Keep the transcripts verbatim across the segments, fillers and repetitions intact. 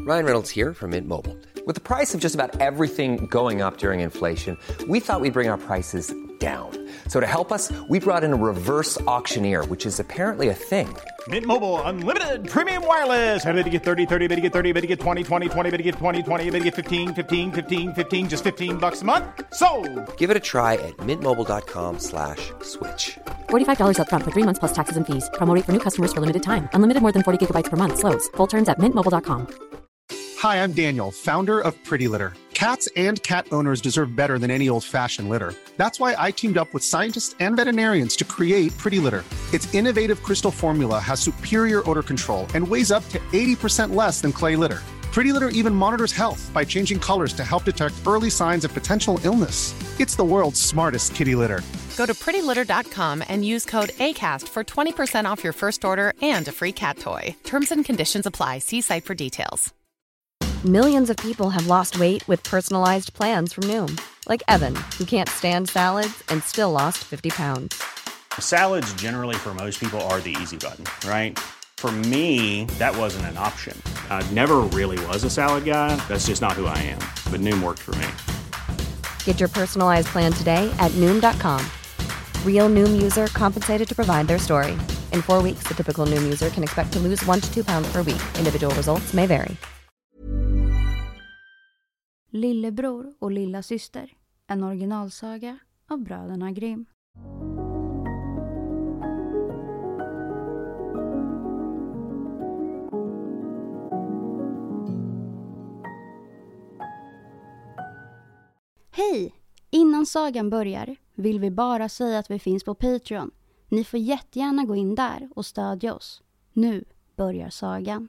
Ryan Reynolds here from Mint Mobile. With the price of just about everything going up during inflation, we thought we'd bring our prices down. So to help us, we brought in a reverse auctioneer, which is apparently a thing. Mint Mobile Unlimited Premium Wireless. How to get thirty, thirty, how to get thirty, how to get twenty, twenty, twenty, how to get twenty, twenty, how to get fifteen, fifteen, fifteen, fifteen, just fifteen bucks a month? Sold! Give it a try at mintmobile.com slash switch. forty-five dollars up front for three months plus taxes and fees. Promo rate for new customers for limited time. Unlimited more than forty gigabytes per month. Slows full terms at mint mobile dot com. Hi, I'm Daniel, founder of Pretty Litter. Cats and cat owners deserve better than any old-fashioned litter. That's why I teamed up with scientists and veterinarians to create Pretty Litter. Its innovative crystal formula has superior odor control and weighs up to eighty percent less than clay litter. Pretty Litter even monitors health by changing colors to help detect early signs of potential illness. It's the world's smartest kitty litter. Go to pretty litter dot com and use code ACAST for twenty percent off your first order and a free cat toy. Terms and conditions apply. See site for details. Millions of people have lost weight with personalized plans from Noom. Like Evan, who can't stand salads and still lost fifty pounds. Salads generally for most people are the easy button, right? For me, that wasn't an option. I never really was a salad guy. That's just not who I am. But Noom worked for me. Get your personalized plan today at Noom dot com. Real Noom user compensated to provide their story. In four weeks, the typical Noom user can expect to lose one to two pounds per week. Individual results may vary. Lillebror och lilla syster. En originalsaga av bröderna Grimm. Hej! Innan sagan börjar vill vi bara säga att vi finns på Patreon. Ni får jättegärna gå in där och stödja oss. Nu börjar sagan.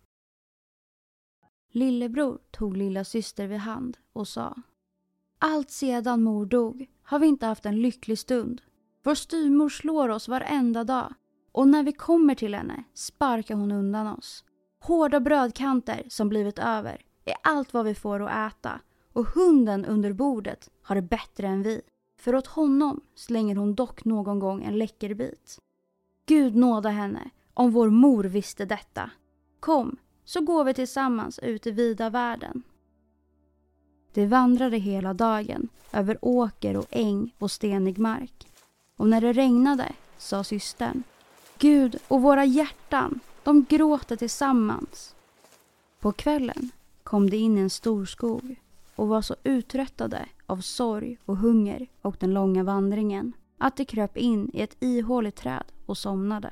Lillebror tog lilla syster vid hand och sa: Allt sedan mor dog har vi inte haft en lycklig stund. Vår styvmor slår oss varenda dag. Och när vi kommer till henne sparkar hon undan oss. Hårda brödkanter som blivit över är allt vad vi får att äta. Och hunden under bordet har det bättre än vi. För åt honom slänger hon dock någon gång en läcker bit. Gud nåda henne om vår mor visste detta. Kom, så går vi tillsammans ut i vida världen. De vandrade hela dagen över åker och äng och stenig mark. Och när det regnade sa systern: Gud och våra hjärtan, de gråter tillsammans. På kvällen kom de in i en stor skog och var så uttröttade av sorg och hunger och den långa vandringen att de kröp in i ett ihåligt träd och somnade.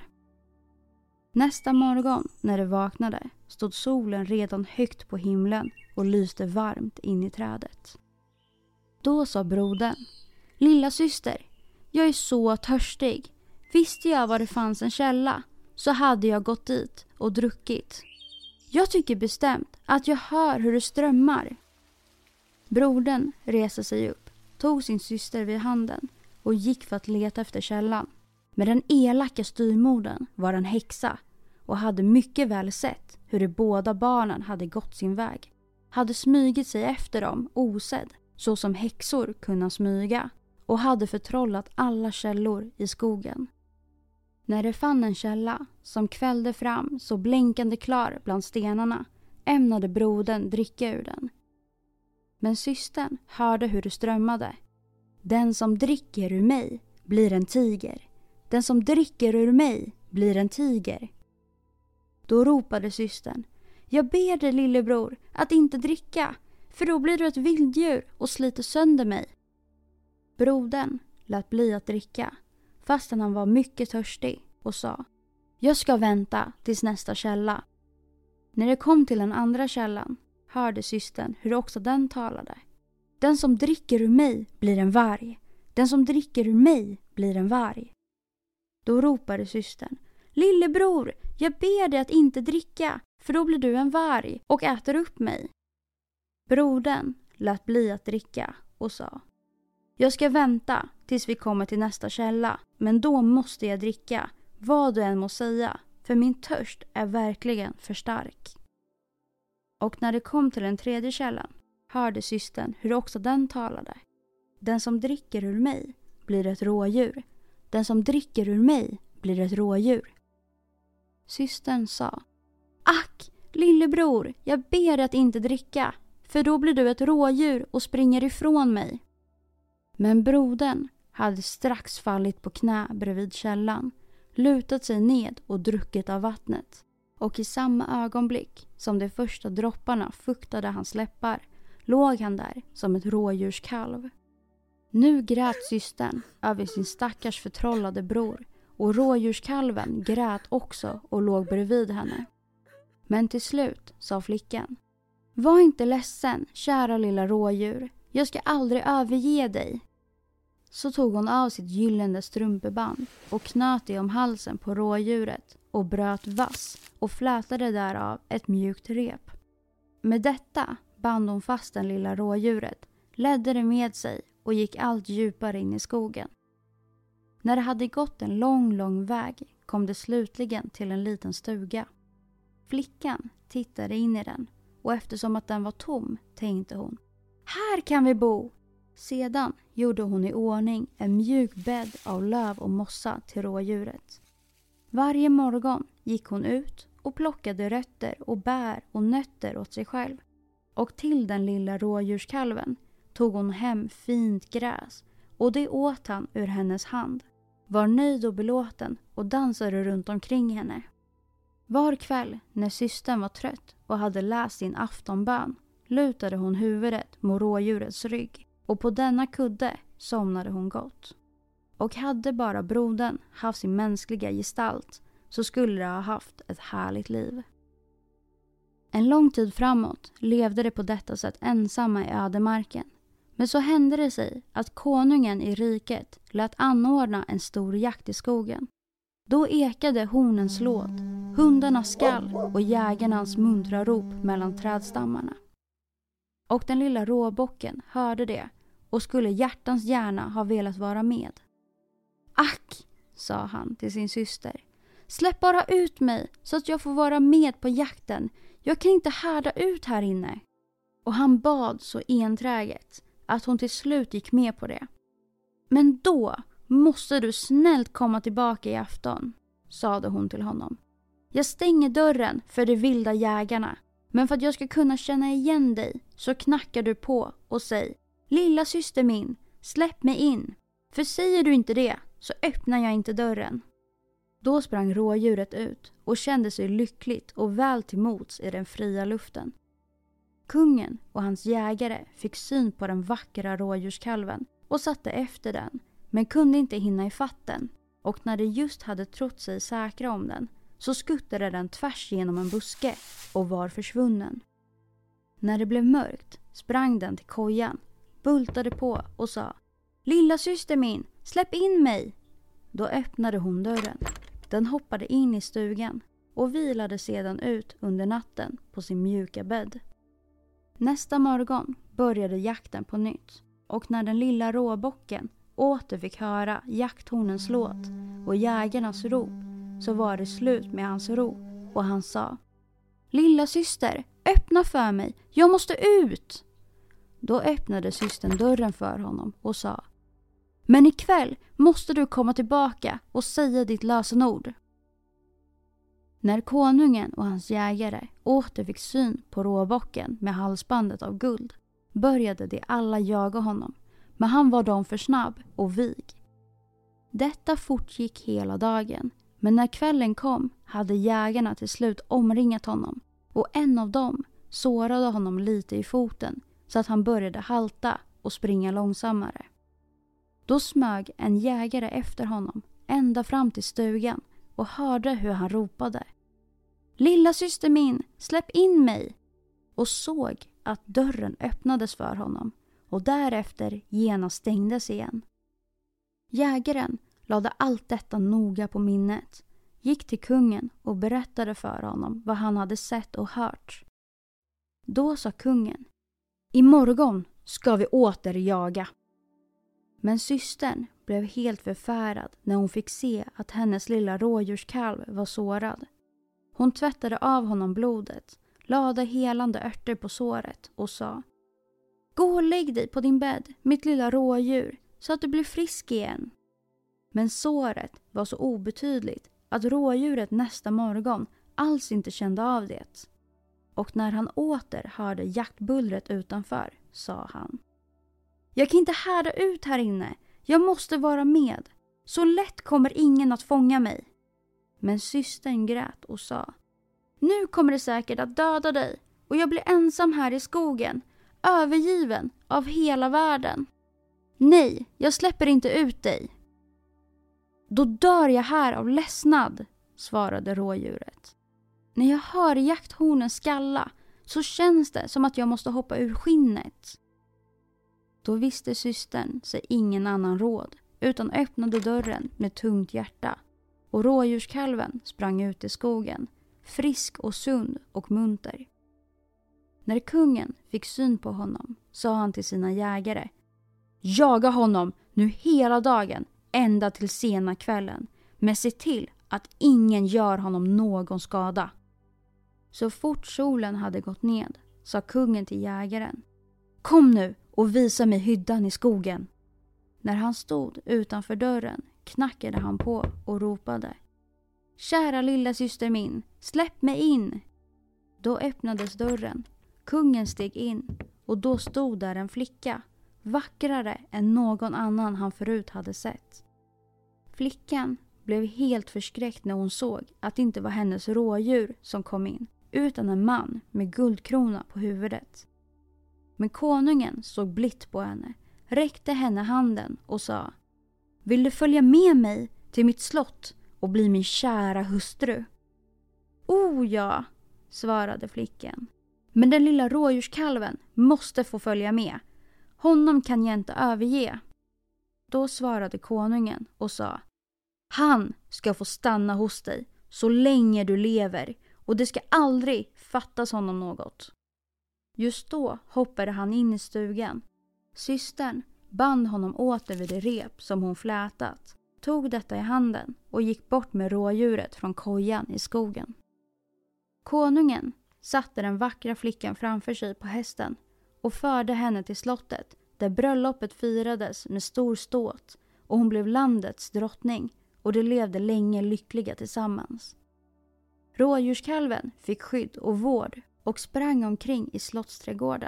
Nästa morgon när de vaknade stod solen redan högt på himlen och lyste varmt in i trädet. Då sa brodern: Lilla syster, jag är så törstig. Visste jag var det fanns en källa så hade jag gått dit och druckit. Jag tycker bestämt att jag hör hur det strömmar. Brodern reste sig upp, tog sin syster vid handen och gick för att leta efter källan. Men den elaka styrmodern var en häxa och hade mycket väl sett hur de båda barnen hade gått sin väg. Hade smygit sig efter dem osedd, så som häxor kunna smyga, och hade förtrollat alla källor i skogen. När de fann en källa som kvällde fram så blänkande klar bland stenarna ämnade brodern dricka ur den. Men systern hörde hur det strömmade. Den som dricker ur mig blir en tiger. Den som dricker ur mig blir en tiger. Då ropade systern: Jag ber dig lillebror att inte dricka, för då blir du ett vilddjur och sliter sönder mig. Brodern lät bli att dricka, fastän han var mycket törstig, och sa: Jag ska vänta tills nästa källa. När det kom till den andra källan hörde systern hur också den talade. Den som dricker ur mig blir en varg. Den som dricker ur mig blir en varg. Då ropade systern: Lillebror, jag ber dig att inte dricka, för då blir du en varg och äter upp mig. Brodern lät bli att dricka och sa: Jag ska vänta tills vi kommer till nästa källa, men då måste jag dricka, vad du än må säga, för min törst är verkligen för stark. Och när det kom till den tredje källan hörde systern hur också den talade. Den som dricker ur mig blir ett rådjur. Den som dricker ur mig blir ett rådjur. Systern sa: Ack, Lillebror, jag ber dig att inte dricka, för då blir du ett rådjur och springer ifrån mig. Men brodern hade strax fallit på knä bredvid källan, lutat sig ned och druckit av vattnet. Och i samma ögonblick som de första dropparna fuktade hans läppar låg han där som ett rådjurskalv. Nu grät systern över sin stackars förtrollade bror, och rådjurskalven grät också och låg bredvid henne. Men till slut sa flickan: var inte ledsen, kära lilla rådjur. Jag ska aldrig överge dig. Så tog hon av sitt gyllene strumpeband och knöt det om halsen på rådjuret och bröt vass och flätade därav ett mjukt rep. Med detta band hon fast den lilla rådjuret, ledde det med sig och gick allt djupare in i skogen. När det hade gått en lång, lång väg kom det slutligen till en liten stuga. Flickan tittade in i den, och eftersom att den var tom tänkte hon: här kan vi bo! Sedan gjorde hon i ordning en mjuk bädd av löv och mossa till rådjuret. Varje morgon gick hon ut och plockade rötter och bär och nötter åt sig själv. Och till den lilla rådjurskalven tog hon hem fint gräs, och det åt han ur hennes hand. Var nöjd och belåten och dansade runt omkring henne. Var kväll när systern var trött och hade läst sin aftonbön lutade hon huvudet mot rådjurets rygg, och på denna kudde somnade hon gott. Och hade bara brodern haft sin mänskliga gestalt så skulle de ha haft ett härligt liv. En lång tid framåt levde de på detta sätt ensamma i ödemarken. Men så hände det sig att konungen i riket lät anordna en stor jakt i skogen. Då ekade hornens låt, hundarnas skall och jägarnas muntra rop mellan trädstammarna. Och den lilla råbocken hörde det och skulle hjärtans gärna ha velat vara med. Ack, sa han till sin syster, släpp bara ut mig så att jag får vara med på jakten. Jag kan inte härda ut här inne. Och han bad så enträget att hon till slut gick med på det. Men då måste du snällt komma tillbaka i afton, sade hon till honom. Jag stänger dörren för de vilda jägarna, men för att jag ska kunna känna igen dig så knackar du på och säg: lilla syster min, släpp mig in. För säger du inte det så öppnar jag inte dörren. Då sprang rådjuret ut och kände sig lyckligt och väl till mots i den fria luften. Kungen och hans jägare fick syn på den vackra rådjurskalven och satte efter den, men kunde inte hinna ifatt den, och när de just hade trott sig säkra om den så skuttade den tvärs genom en buske och var försvunnen. När det blev mörkt sprang den till kojan, bultade på och sa: lilla syster min, släpp in mig. Då öppnade hon dörren. Den hoppade in i stugan och vilade sedan ut under natten på sin mjuka bädd. Nästa morgon började jakten på nytt, och när den lilla råbocken åter fick höra jakthornens låt och jägarnas rop så var det slut med hans ro, och han sa: lilla syster, öppna för mig, jag måste ut. Då öppnade systern dörren för honom och sa: men ikväll måste du komma tillbaka och säga ditt lösenord. När konungen och hans jägare åter fick syn på råbocken med halsbandet av guld började de alla jaga honom, men han var dem för snabb och vig. Detta fortgick hela dagen, men när kvällen kom hade jägarna till slut omringat honom, och en av dem sårade honom lite i foten så att han började halta och springa långsammare. Då smög en jägare efter honom ända fram till stugan och hörde hur han ropade: lilla syster min, släpp in mig! Och såg att dörren öppnades för honom och därefter genast stängdes igen. Jägaren lade allt detta noga på minnet, gick till kungen och berättade för honom vad han hade sett och hört. Då sa kungen: imorgon ska vi åter jaga. Men systern blev helt förfärad när hon fick se att hennes lilla rådjurskalv var sårad. Hon tvättade av honom blodet, lade helande örter på såret och sa: gå och lägg dig på din bädd, mitt lilla rådjur, så att du blir frisk igen. Men såret var så obetydligt att rådjuret nästa morgon alls inte kände av det. och när han åter hörde jaktbullret utanför sa han: Jag kan inte härda ut här inne. Jag måste vara med. Så lätt kommer ingen att fånga mig. Men systern grät och sa: Nu kommer det säkert att döda dig och jag blir ensam här i skogen, övergiven av hela världen. Nej, jag släpper inte ut dig. Då dör jag här av ledsnad, svarade rådjuret. När jag hör jakthornen skalla så känns det som att jag måste hoppa ur skinnet. Då visste systern sig ingen annan råd utan öppnade dörren med tungt hjärta, och rådjurskalven sprang ut i skogen, frisk och sund och munter. När kungen fick syn på honom sa han till sina jägare: Jaga honom nu hela dagen ända till sena kvällen, men se till att ingen gör honom någon skada. Så fort solen hade gått ned sa kungen till jägaren: Kom nu och visa mig hyddan i skogen. När han stod utanför dörren knackade han på och ropade: Kära lilla syster min, släpp mig in. Då öppnades dörren, kungen steg in och då stod där en flicka, vackrare än någon annan han förut hade sett. Flickan blev helt förskräckt när hon såg att det inte var hennes rådjur som kom in, utan en man med guldkrona på huvudet. Men konungen såg blitt på henne, räckte henne handen och sa: Vill du följa med mig till mitt slott och bli min kära hustru? Oh ja, svarade flickan. Men den lilla rådjurskalven måste få följa med. Honom kan jag inte överge. Då svarade konungen och sa: Han ska få stanna hos dig så länge du lever och det ska aldrig fattas honom något. Just då hoppade han in i stugan. Systern band honom åter vid det rep som hon flätat, tog detta i handen och gick bort med rådjuret från kojan i skogen. Konungen satte den vackra flickan framför sig på hästen och förde henne till slottet där bröllopet firades med stor ståt och hon blev landets drottning och de levde länge lyckliga tillsammans. Rådjurskalven fick skydd och vård och sprang omkring i slottsträdgården.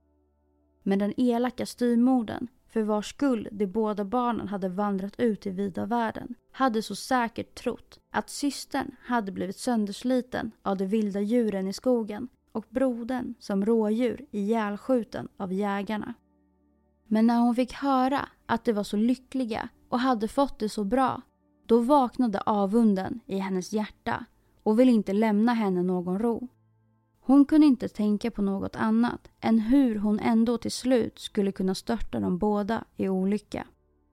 Men den elaka styrmodern, för vars skull de båda barnen hade vandrat ut i vida världen, hade så säkert trott att systern hade blivit söndersliten av de vilda djuren i skogen och brodern som rådjur ihjälskjuten av jägarna. Men när hon fick höra att de var så lyckliga och hade fått det så bra, då vaknade avunden i hennes hjärta och ville inte lämna henne någon ro. Hon kunde inte tänka på något annat än hur hon ändå till slut skulle kunna störta dem båda i olycka.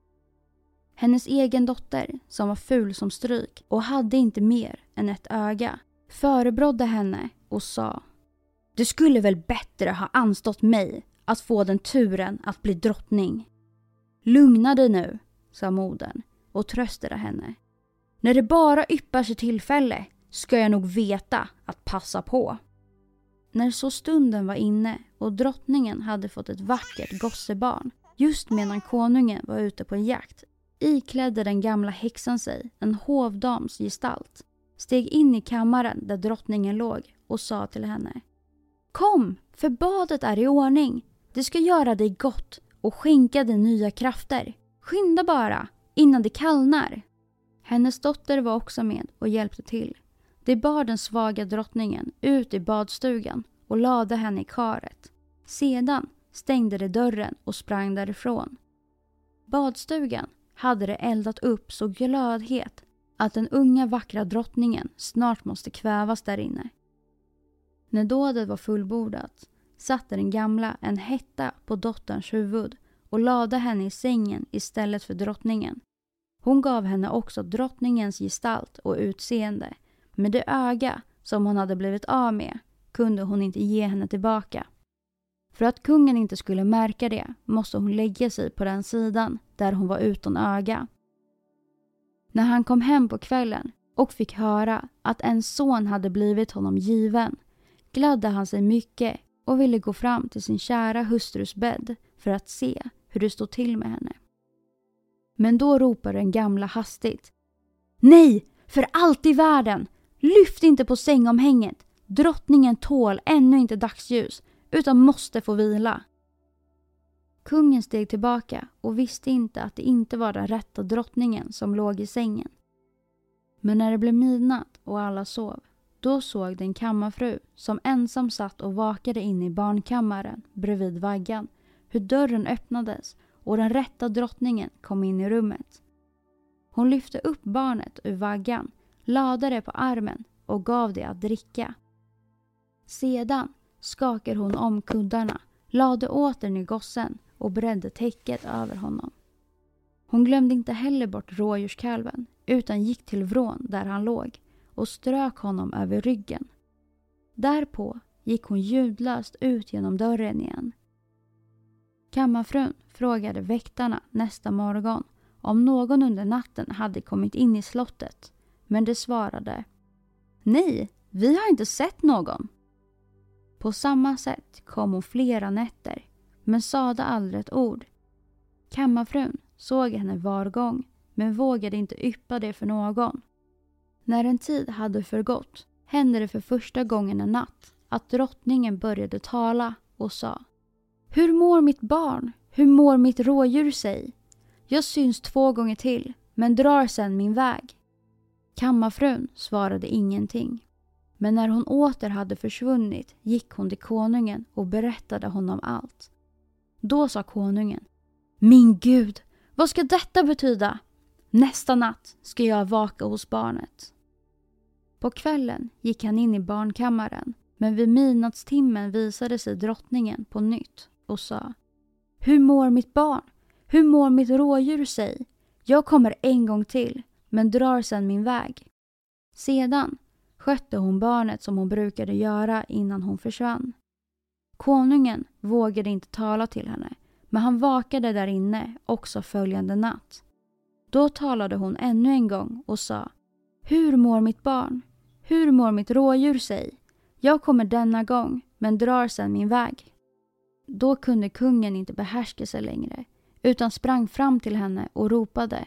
Hennes egen dotter, som var ful som stryk och hade inte mer än ett öga, förebrådde henne och sa: Det skulle väl bättre ha anstått mig att få den turen att bli drottning. Lugna dig nu, sa modern och tröstade henne. När det bara yppar sig tillfälle ska jag nog veta att passa på. När så stunden var inne och drottningen hade fått ett vackert gossebarn, just medan konungen var ute på en jakt, iklädde den gamla häxan sig en hovdams gestalt, steg in i kammaren där drottningen låg och sa till henne: Kom, för badet är i ordning. Det ska göra dig gott och skänka dig nya krafter. Skynda bara, innan det kallnar. Hennes dotter var också med och hjälpte till. De bar den svaga drottningen ut i badstugan och lade henne i karet. Sedan stängde de dörren och sprang därifrån. Badstugan hade det eldat upp så glödhet att den unga vackra drottningen snart måste kvävas där inne. När dådet var fullbordat satte den gamla en hetta på dotterns huvud och lade henne i sängen istället för drottningen. Hon gav henne också drottningens gestalt och utseende, men det öga som hon hade blivit av med kunde hon inte ge henne tillbaka. För att kungen inte skulle märka det måste hon lägga sig på den sidan där hon var utan öga. När han kom hem på kvällen och fick höra att en son hade blivit honom given, gladde han sig mycket och ville gå fram till sin kära hustrus bädd för att se hur det stod till med henne. Men då ropade den gamla hastigt: Nej, för allt i världen! Lyft inte på sängomhänget! Drottningen tål ännu inte dagsljus utan måste få vila. Kungen steg tillbaka och visste inte att det inte var den rätta drottningen som låg i sängen. Men när det blev midnatt och alla sov, då såg den kammarfru som ensam satt och vakade in i barnkammaren bredvid vaggan hur dörren öppnades och den rätta drottningen kom in i rummet. Hon lyfte upp barnet ur vaggan, lade det på armen och gav det att dricka. Sedan skakade hon om kuddarna, lade åter ner gossen och bredde täcket över honom. Hon glömde inte heller bort rådjurskalven utan gick till vrån där han låg och strök honom över ryggen. Därpå gick hon ljudlöst ut genom dörren igen. Kammarfrun frågade väktarna nästa morgon om någon under natten hade kommit in i slottet, men det svarade: nej, vi har inte sett någon. På samma sätt kom hon flera nätter, men sade aldrig ett ord. Kammarfrun såg henne var gång, men vågade inte yppa det för någon. När en tid hade förgått hände det för första gången en natt att drottningen började tala och sa: hur mår mitt barn? Hur mår mitt rådjur sig? Jag syns två gånger till, men drar sedan min väg. Kammarfrun svarade ingenting. Men när hon åter hade försvunnit gick hon till konungen och berättade honom allt. Då sa konungen: min Gud, vad ska detta betyda? Nästa natt ska jag vaka hos barnet. På kvällen gick han in i barnkammaren, men vid midnattstimmen visade sig drottningen på nytt och sa: hur mår mitt barn? Hur mår mitt rådjur sig? Jag kommer en gång till, men drar sedan min väg. Sedan skötte hon barnet som hon brukade göra innan hon försvann. Konungen vågade inte tala till henne, men han vakade där inne också följande natt. Då talade hon ännu en gång och sa: hur mår mitt barn? Hur mår mitt rådjur sig? Jag kommer denna gång, men drar sedan min väg. Då kunde kungen inte behärska sig längre, utan sprang fram till henne och ropade: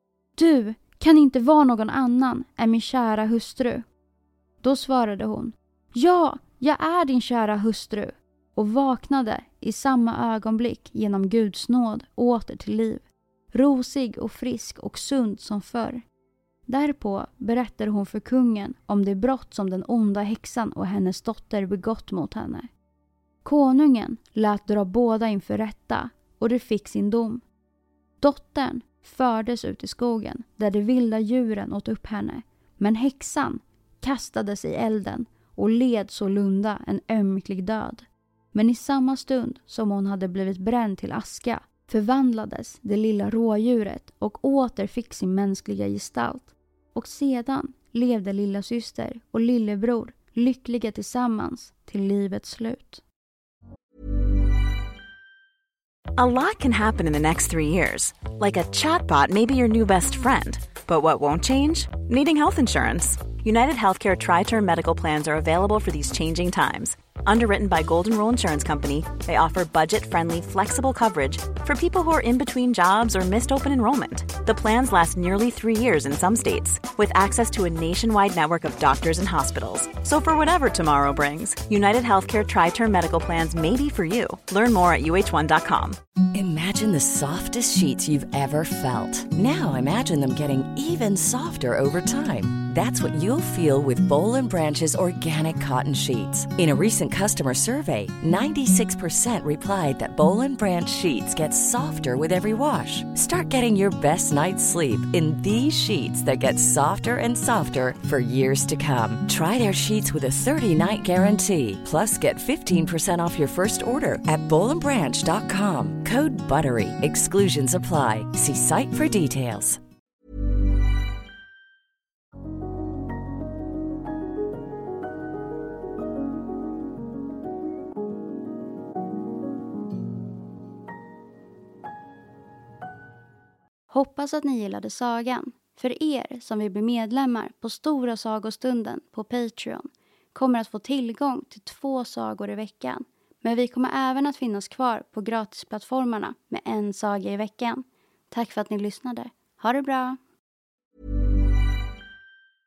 du kan inte vara någon annan än min kära hustru. Då svarade hon: ja, jag är din kära hustru, och vaknade i samma ögonblick genom Guds nåd åter till liv, rosig och frisk och sund som förr. Därpå berättade hon för kungen om det brott som den onda häxan och hennes dotter begått mot henne. Konungen lät dra båda inför rätta, och det fick sin dom. Dottern fördes ut i skogen där de vilda djuren åt upp henne, men häxan kastades i elden och led sålunda en ömklig död. Men i samma stund som hon hade blivit bränd till aska förvandlades det lilla rådjuret och åter fick sin mänskliga gestalt. Och sedan levde lilla syster och lillebror lyckliga tillsammans till livets slut. A lot can happen in the next three years. Like a chatbot may be your new best friend. But what won't change? Needing health insurance. United Healthcare Tri-Term Medical Plans are available for these changing times. Underwritten by Golden Rule Insurance Company, they offer budget-friendly, flexible coverage for people who are in between jobs or missed open enrollment. The plans last nearly three years in some states, with access to a nationwide network of doctors and hospitals. So for whatever tomorrow brings, United Healthcare Tri-Term Medical Plans may be for you. Learn more at U H one dot com. Imagine the softest sheets you've ever felt. Now imagine them getting even softer over time. That's what you'll feel with Boll and Branch's organic cotton sheets. In a recent customer survey, ninety-six percent replied that Boll and Branch sheets get softer with every wash. Start getting your best night's sleep in these sheets that get softer and softer for years to come. Try their sheets with a thirty-night guarantee. Plus, get fifteen percent off your first order at boll and branch dot com. Code BUTTERY. Exclusions apply. See site for details. Hoppas att ni gillade sagan. För er som vill bli medlemmar på Stora sagostunden på Patreon kommer att få tillgång till två sagor i veckan. Men vi kommer även att finnas kvar på gratisplattformarna med en saga i veckan. Tack för att ni lyssnade. Ha det bra!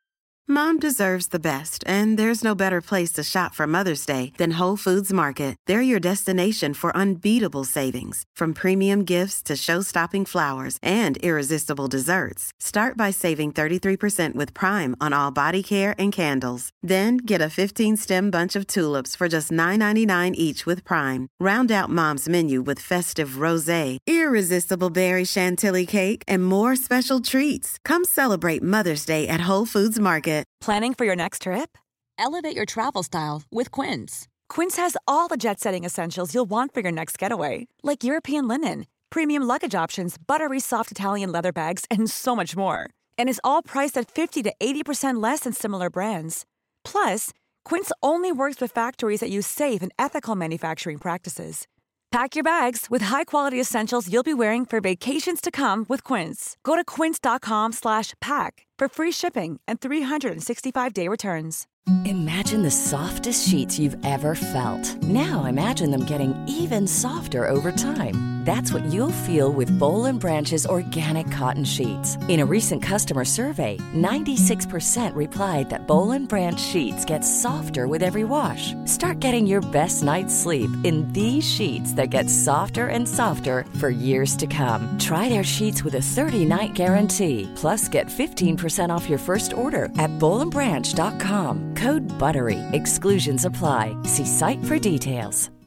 Mom deserves the best, and there's no better place to shop for Mother's Day than Whole Foods Market. They're your destination for unbeatable savings, from premium gifts to show-stopping flowers and irresistible desserts. Start by saving thirty-three percent with Prime on all body care and candles. Then get a fifteen-stem bunch of tulips for just nine ninety-nine each with Prime. Round out Mom's menu with festive rosé, irresistible berry chantilly cake, and more special treats. Come celebrate Mother's Day at Whole Foods Market. Planning for your next trip? Elevate your travel style with Quince. Quince has all the jet-setting essentials you'll want for your next getaway, like European linen, premium luggage options, buttery soft Italian leather bags, and so much more. And is all priced at fifty to eighty percent less than similar brands. Plus, Quince only works with factories that use safe and ethical manufacturing practices. Pack your bags with high-quality essentials you'll be wearing for vacations to come with Quince. Go to quince.com slash pack for free shipping and three sixty-five day returns. Imagine the softest sheets you've ever felt. Now imagine them getting even softer over time. That's what you'll feel with Boll and Branch's organic cotton sheets. In a recent customer survey, ninety-six percent replied that Boll and Branch sheets get softer with every wash. Start getting your best night's sleep in these sheets that get softer and softer for years to come. Try their sheets with a thirty-night guarantee. Plus, get fifteen percent off your first order at boll and branch dot com. Code BUTTERY. Exclusions apply. See site for details.